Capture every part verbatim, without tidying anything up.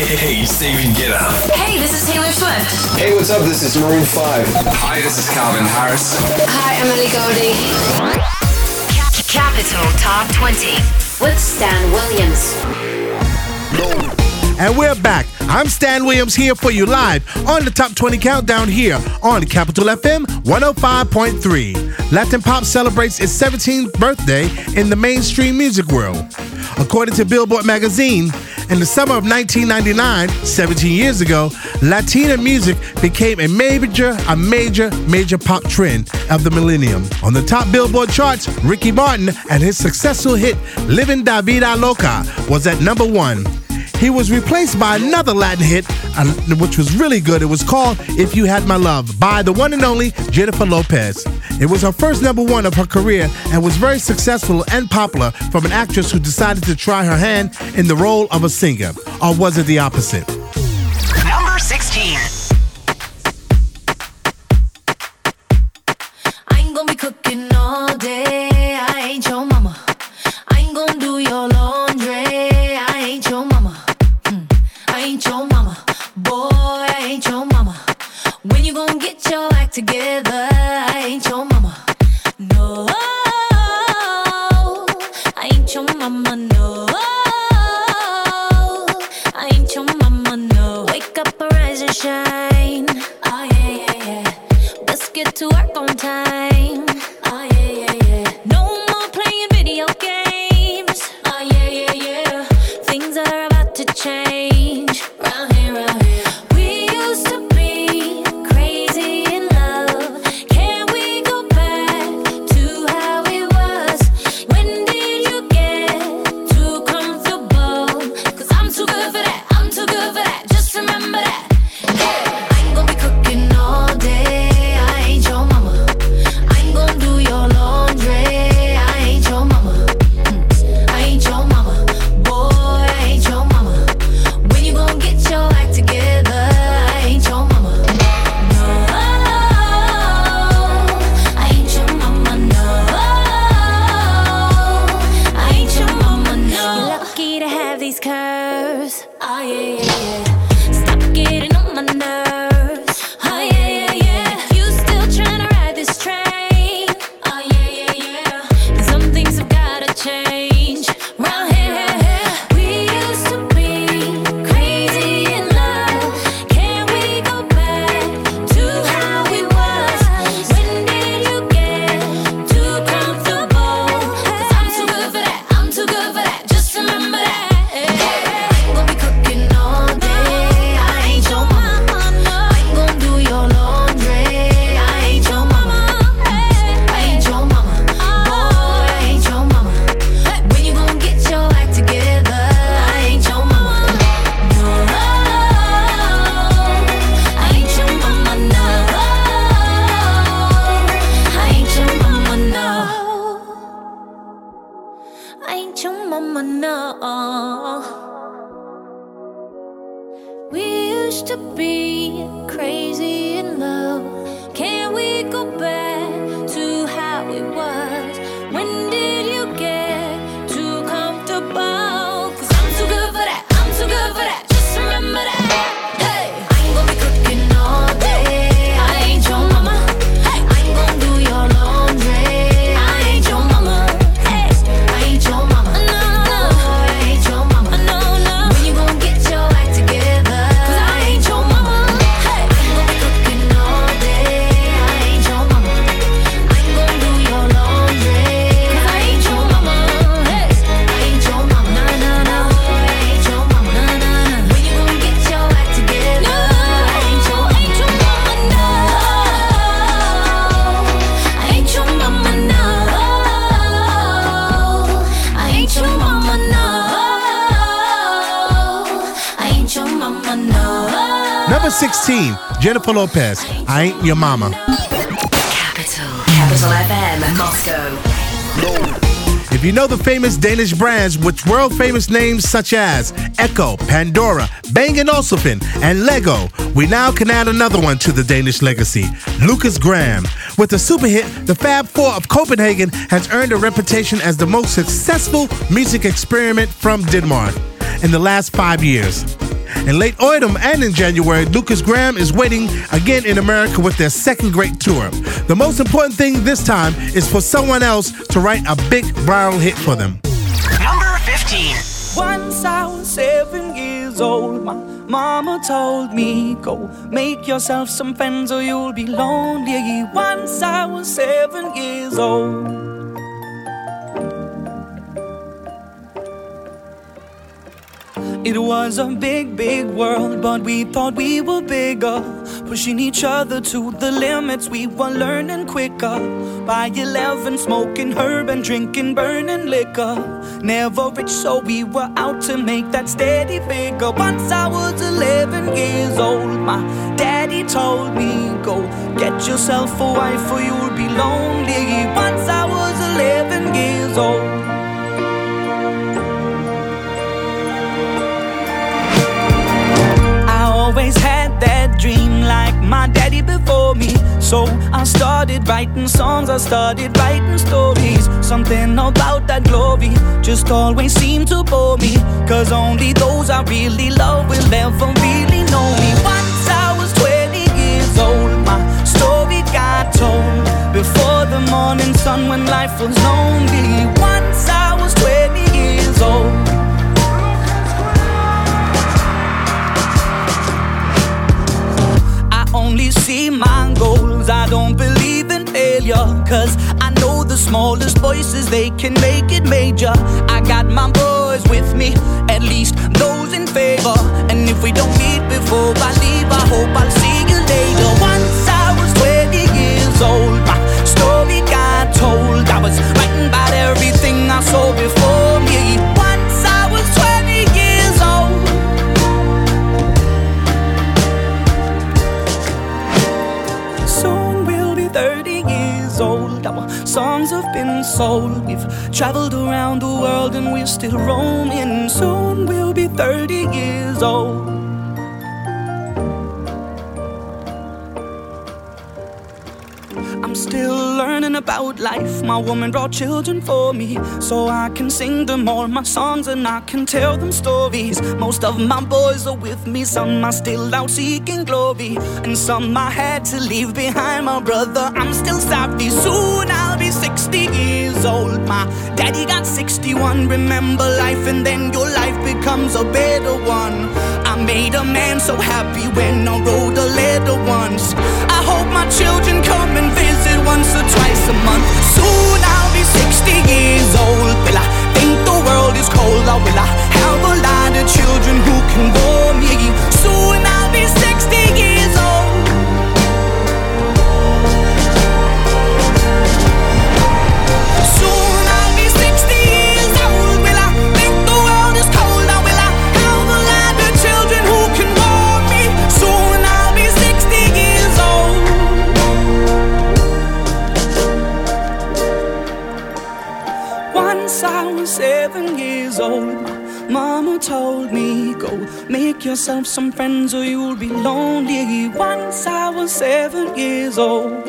Hey, Steven Guetta. Hey, this is Taylor Swift. Hey, what's up? This is Maroon five. Hi, this is Calvin Harris. Hi, Emily Goldie. Capital Top twenty with Stan Williams. And we're back. I'm Stan Williams here for you live on the Top twenty Countdown here on Capital F M one oh five point three. Latin Pop celebrates its seventeenth birthday in the mainstream music world. According to Billboard magazine, in the summer of nineteen ninety-nine, seventeen years ago, Latina music became a major, a major, major pop trend of the millennium. On the top Billboard charts, Ricky Martin and his successful hit Livin' Da Vida Loca was at number one. He was replaced by another Latin hit, uh, which was really good. It was called If You Had My Love by the one and only Jennifer Lopez. It was her first number one of her career and was very successful and popular from an actress who decided to try her hand in the role of a singer. Or was it the opposite? Number sixteen. I ain't gonna be cooking all day. I ain't your mama. I ain't gonna do your laundry. I ain't your mama. I ain't your mama, boy, I ain't your mama. When you gon' get your act together, I ain't your mama. No, I ain't your mama, no. I ain't your mama, no. Wake up, arise and shine. Oh yeah, yeah, yeah. Let's get to work on time. Oh yeah, yeah, yeah. No more playing video games. Oh yeah, yeah, yeah. Things are about to change. sixteen, Jennifer Lopez, I Ain't Your Mama. Capital, Capital F M, Moscow. If you know the famous Danish brands with world-famous names such as Echo, Pandora, Bang and Olufsen, and Lego, we now can add another one to the Danish legacy, Lucas Graham. With the super hit, the Fab Four of Copenhagen has earned a reputation as the most successful music experiment from Denmark in the last five years. In late autumn and in January, Lucas Graham is waiting again in America with their second great tour. The most important thing this time is for someone else to write a big viral hit for them. Number fifteen. Once I was seven years old, my mama told me, go make yourself some friends or you'll be lonely. Once I was seven years old. It was a big, big world, but we thought we were bigger, pushing each other to the limits. We were learning quicker. By eleven, smoking herb and drinking burning liquor. Never rich, so we were out to make that steady figure. Once I was eleven years old, my daddy told me, go get yourself a wife or you'll be lonely. Once I was eleven years old. Always had that dream like my daddy before me. So I started writing songs, I started writing stories. Something about that glory just always seemed to bore me, cause only those I really love will ever really know me. Once I was twenty years old, my story got told before the morning sun when life was lonely. Once I was twenty years old. Only see my goals, I don't believe in failure, cause I know the smallest voices, they can make it major. I got my boys with me, at least those in favor. And if we don't meet before I leave, I hope I'll see you later. Once I was twenty years old, my story got told. I was writing about everything I saw before me. Once I was twenty years old. thirty years old, our songs have been sold. We've traveled around the world and we're still roaming. Soon we'll be thirty years old. I'm still learning about life. My woman brought children for me, so I can sing them all my songs and I can tell them stories. Most of my boys are with me, some are still out seeking glory, and some I had to leave behind. My brother, I'm still sorry. Soon I'll be sixty years old. My daddy got sixty-one. Remember life and then your life becomes a better one. I made a man so happy when I wrote a letter once. I hope my children come and visit once or twice a month. Soon I'll be sixty years old. Will I think the world is cold, or will I have a lot of children who can bore me? Soon I'll be sixty years old. Soon I'll be sixty years old. Will I think the world is cold, or will I have a lot of children who can bore me? Soon I'll be sixty years old. Once I was seven years old, my mama told me, go make yourself some friends or you'll be lonely. Once I was seven years old.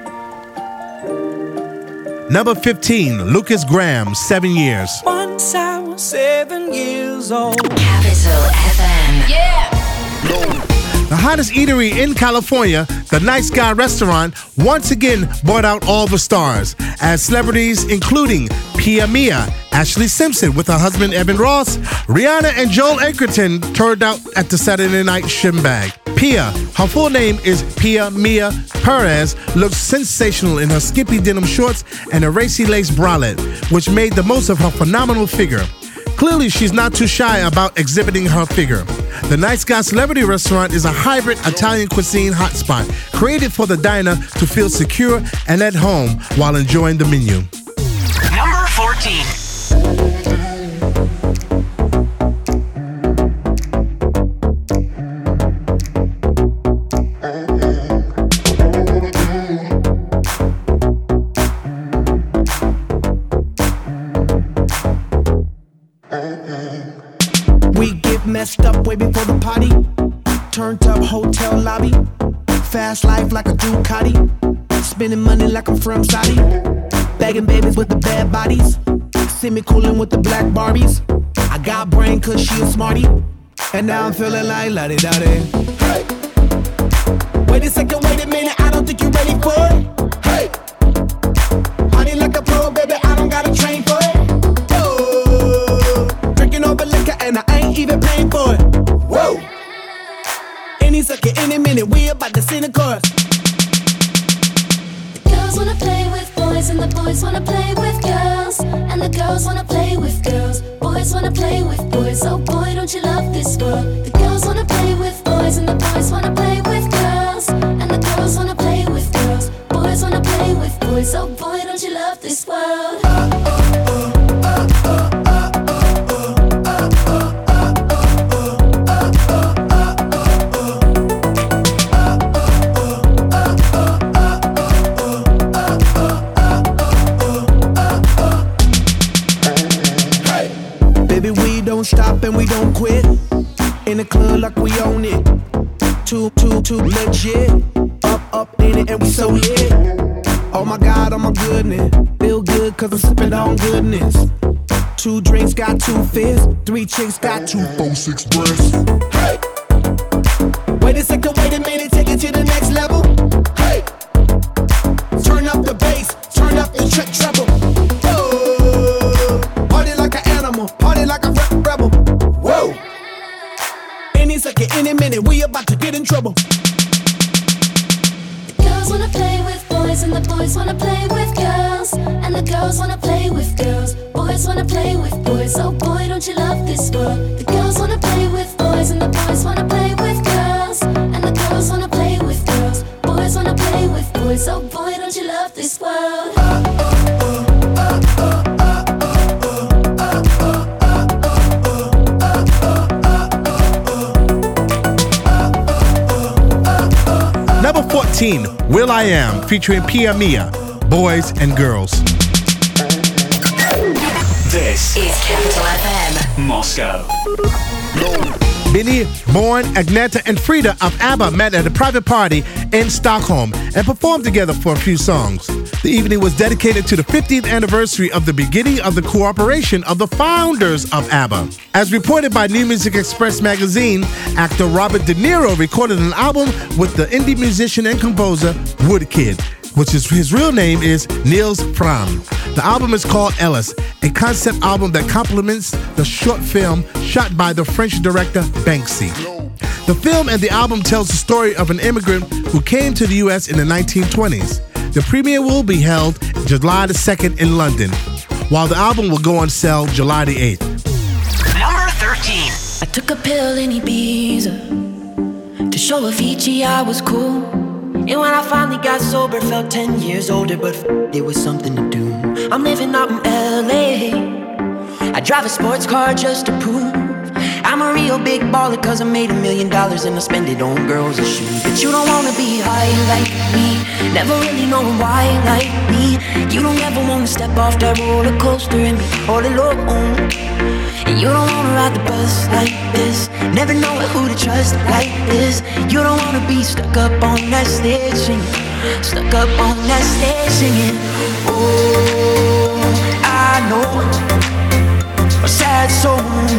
Number fifteen, Lucas Graham, Seven Years. Once I was seven years old. Capital F M. Yeah! The hottest eatery in California, the Nice Guy restaurant, once again brought out all the stars, as celebrities including Pia Mia, Ashley Simpson with her husband Evan Ross, Rihanna and Joel Edgerton turned out at the Saturday night shinbag. Pia, her full name is Pia Mia Perez, looks sensational in her skimpy denim shorts and a racy lace bralette, which made the most of her phenomenal figure. Clearly, she's not too shy about exhibiting her figure. The Nice Guy Celebrity Restaurant is a hybrid Italian cuisine hotspot created for the diner to feel secure and at home while enjoying the menu. Number fourteen. Messed up way before the party. Turned up hotel lobby. Fast life like a Ducati. Spending money like I'm from Saudi. Bagging babies with the bad bodies. See me coolin' with the black Barbies. I got brain cause she a smarty. And now I'm feeling like la-di-da-di. Hey. Wait a second, wait a minute, I don't think you're ready for it. Hey. Honey like a pro, baby, I don't gotta train for it. Whoa. Drinking over liquor and I ain't even paying for it. Whoa. Any second, any minute, we about to see the chorus. Girls wanna play with boys and the boys wanna play with girls. And the girls wanna play with girls. Boys wanna play with boys. Oh boy, don't you love this world? The girls wanna play with boys and the boys wanna play with girls. And the girls wanna play with girls. Boys wanna play with boys. Oh boy, don't you love this world? Stop and we don't quit. In the club like we own it. Too, too, too legit. Up, up in it and we so lit. Oh my God, oh my goodness. Feel good cause I'm sipping on goodness. Two drinks got two fists. Three chicks got two, four, six breasts. Hey! Wait a second, wait a minute, take it to the next level. Hey! Turn up the bass, turn up the trick treble. Whoa! Party like an animal, party like a rebel. Whoa! Any second, any minute, we about to get in trouble. Girls wanna play with boys and the boys wanna play with girls. And the girls wanna play with girls. Boys wanna play with boys. Oh boy, don't you love this world? The girls wanna play with boys and the boys wanna play with girls. And the girls wanna play with girls. Boys wanna play with boys. Oh boy, don't you love this world? Number fourteen, Will I Am, featuring Pia Mia, Boys and Girls. This is Capital F M. Moscow. Benny, Born, Agneta, and Frida of ABBA met at a private party in Stockholm and performed together for a few songs. The evening was dedicated to the fiftieth anniversary of the beginning of the cooperation of the founders of ABBA. As reported by New Music Express magazine, actor Robert De Niro recorded an album with the indie musician and composer Woodkid, which is his real name is Niels Fram. The album is called Ellis, a concept album that complements the short film shot by the French director Banksy. The film and the album tells the story of an immigrant who came to the U S in the nineteen twenties. The premiere will be held July the second in London, while the album will go on sale July the eighth. Number thirteen. I took a pill in Ibiza to show Avicii I was cool. And when I finally got sober, felt ten years older, but f- it was something to do. I'm living out in L A. I drive a sports car just to prove I'm a real big baller, cause I made a million dollars and I spend it on girls and shoes. But you don't wanna be high like me, never really knowing why like me. You don't ever wanna step off that roller coaster and be all alone. And you don't wanna ride the bus like this, never know who to trust like this. You don't wanna be stuck up on that stage singing, stuck up on that stage singing. Oh, I know a sad soul,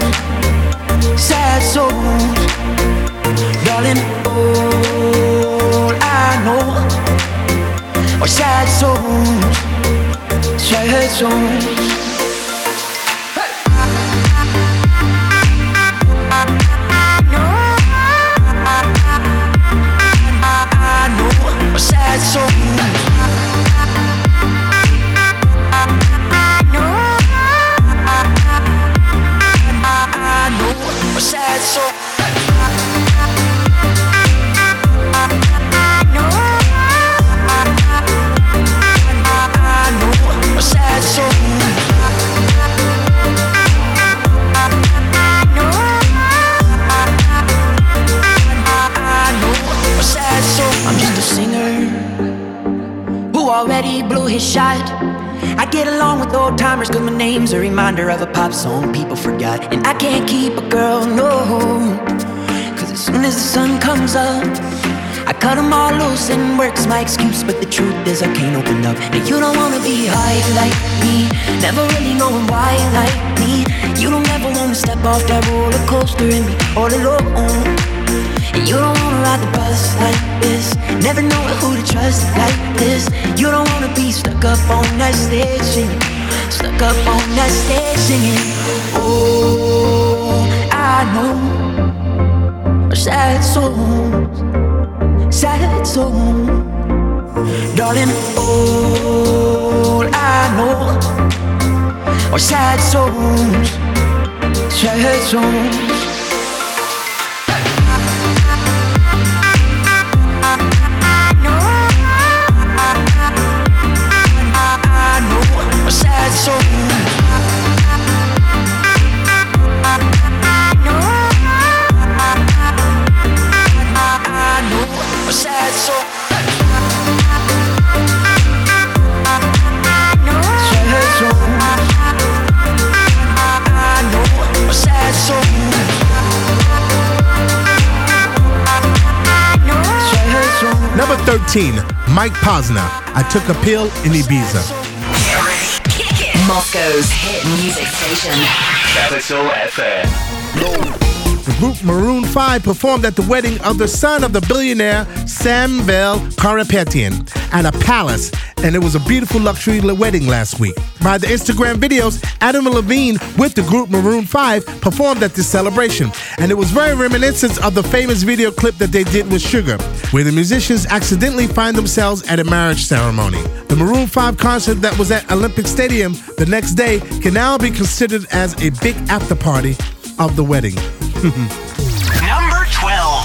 sad souls, darling. All I know are sad souls, sad souls. Sad souls. I know, I know a sad soul. I know, I know a sad soul. I know, I know a sad soul. I'm just a singer who already blew his shot. I get along with old timers cause my name's a reminder of a pop song people forgot. And I can't keep a girl, no, cause as soon as the sun comes up I cut them all loose and work's my excuse. But the truth is I can't open up. And you don't wanna be high like me, never really knowing why like me. You don't ever wanna wanna step off that roller coaster and be all alone. And you don't wanna ride the bus like this, never know who to trust like this. You don't wanna be stuck up on that stage singing, stuck up on that stage singing. Oh, I know sad songs, sad songs, darling. All I know are sad songs, sad songs. Sad songs. I know a sad soul. Sad soul. I know a sad soul. Sad soul. Number thirteen, Mike Posner. I Took a Pill in Ibiza. Moscow's hit music station. Capital F M. The group Maroon five performed at the wedding of the son of the billionaire Samuel Karapetian at a palace, and it was a beautiful luxury wedding last week. By the Instagram videos, Adam Levine with the group Maroon five performed at this celebration, and it was very reminiscent of the famous video clip that they did with Sugar, where the musicians accidentally find themselves at a marriage ceremony. The Maroon five concert that was at Olympic Stadium the next day can now be considered as a big after party of the wedding. Number twelve.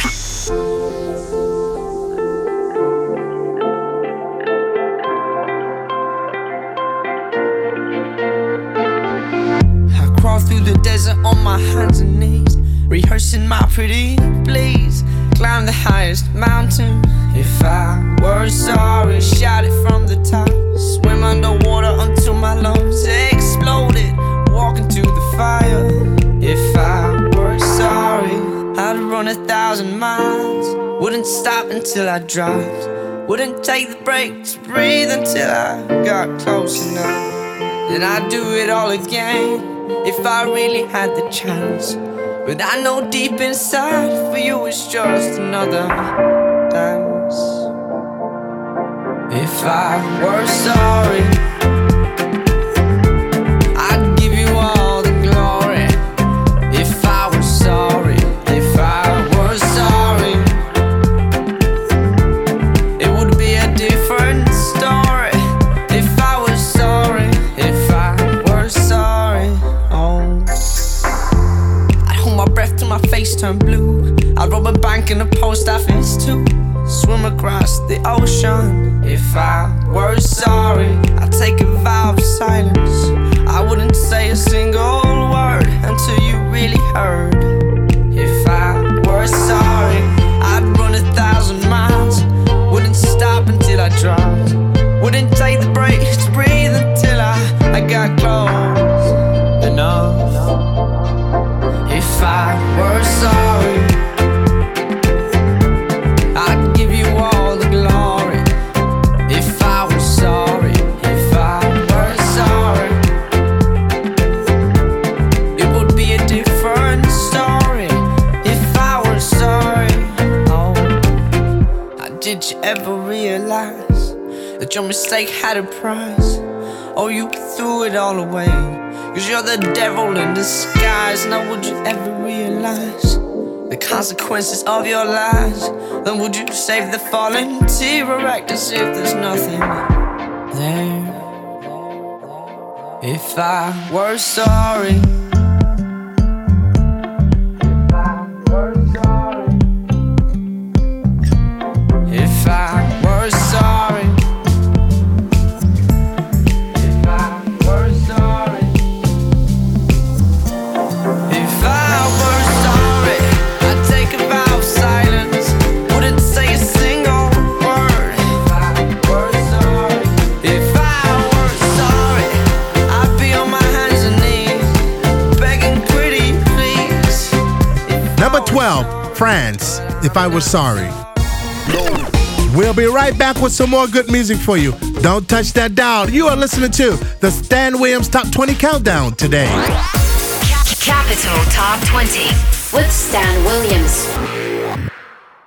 I crawl through the desert on my hands and knees, rehearsing my pretty please. Climb the highest mountain. If I were sorry, shout it from the top. Swim underwater until my lungs exploded. Walk into the fire. If I were sorry, I'd run a thousand miles. Wouldn't stop until I dropped. Wouldn't take the break to breathe until I got close enough. Then I'd do it all again if I really had the chance. But I know deep inside for you it's just another dance. If I were sorry, I'd give you all the glory. If I were sorry, if I were sorry, it would be a different story. If I was sorry, if I were sorry, oh, I'd hold my breath till my face turned blue. I'd rob a bank in a post office too. Swim across the ocean. If I were sorry, I'd take a vow of silence. I wouldn't say a single word until you really heard. If I were sorry, I'd run a thousand miles. Wouldn't stop until I dropped. Wouldn't take the break to breathe until I, I got close enough. If I were sorry, I'd give you all the glory. If I was sorry, if I were sorry, it would be a different story. If I were sorry, oh, did you ever realize that your mistake had a price? Oh, you threw it all away, cause you're the devil in disguise. Now would you ever realize the consequences of your lies? Then would you save the fallen tear or act as if there's nothing there? If I were sorry, if I were sorry, if I were sorry, if I were sorry, I'd take a vow of silence. Wouldn't say a single word. If I were sorry, if I were sorry, I'd be on my hands and knees, begging pretty please. Number twelve, France, If I Were Sorry. We'll be right back with some more good music for you. Don't touch that dial. You are listening to the Stan Williams Top twenty Countdown today. Capital Capital Top twenty with Stan Williams.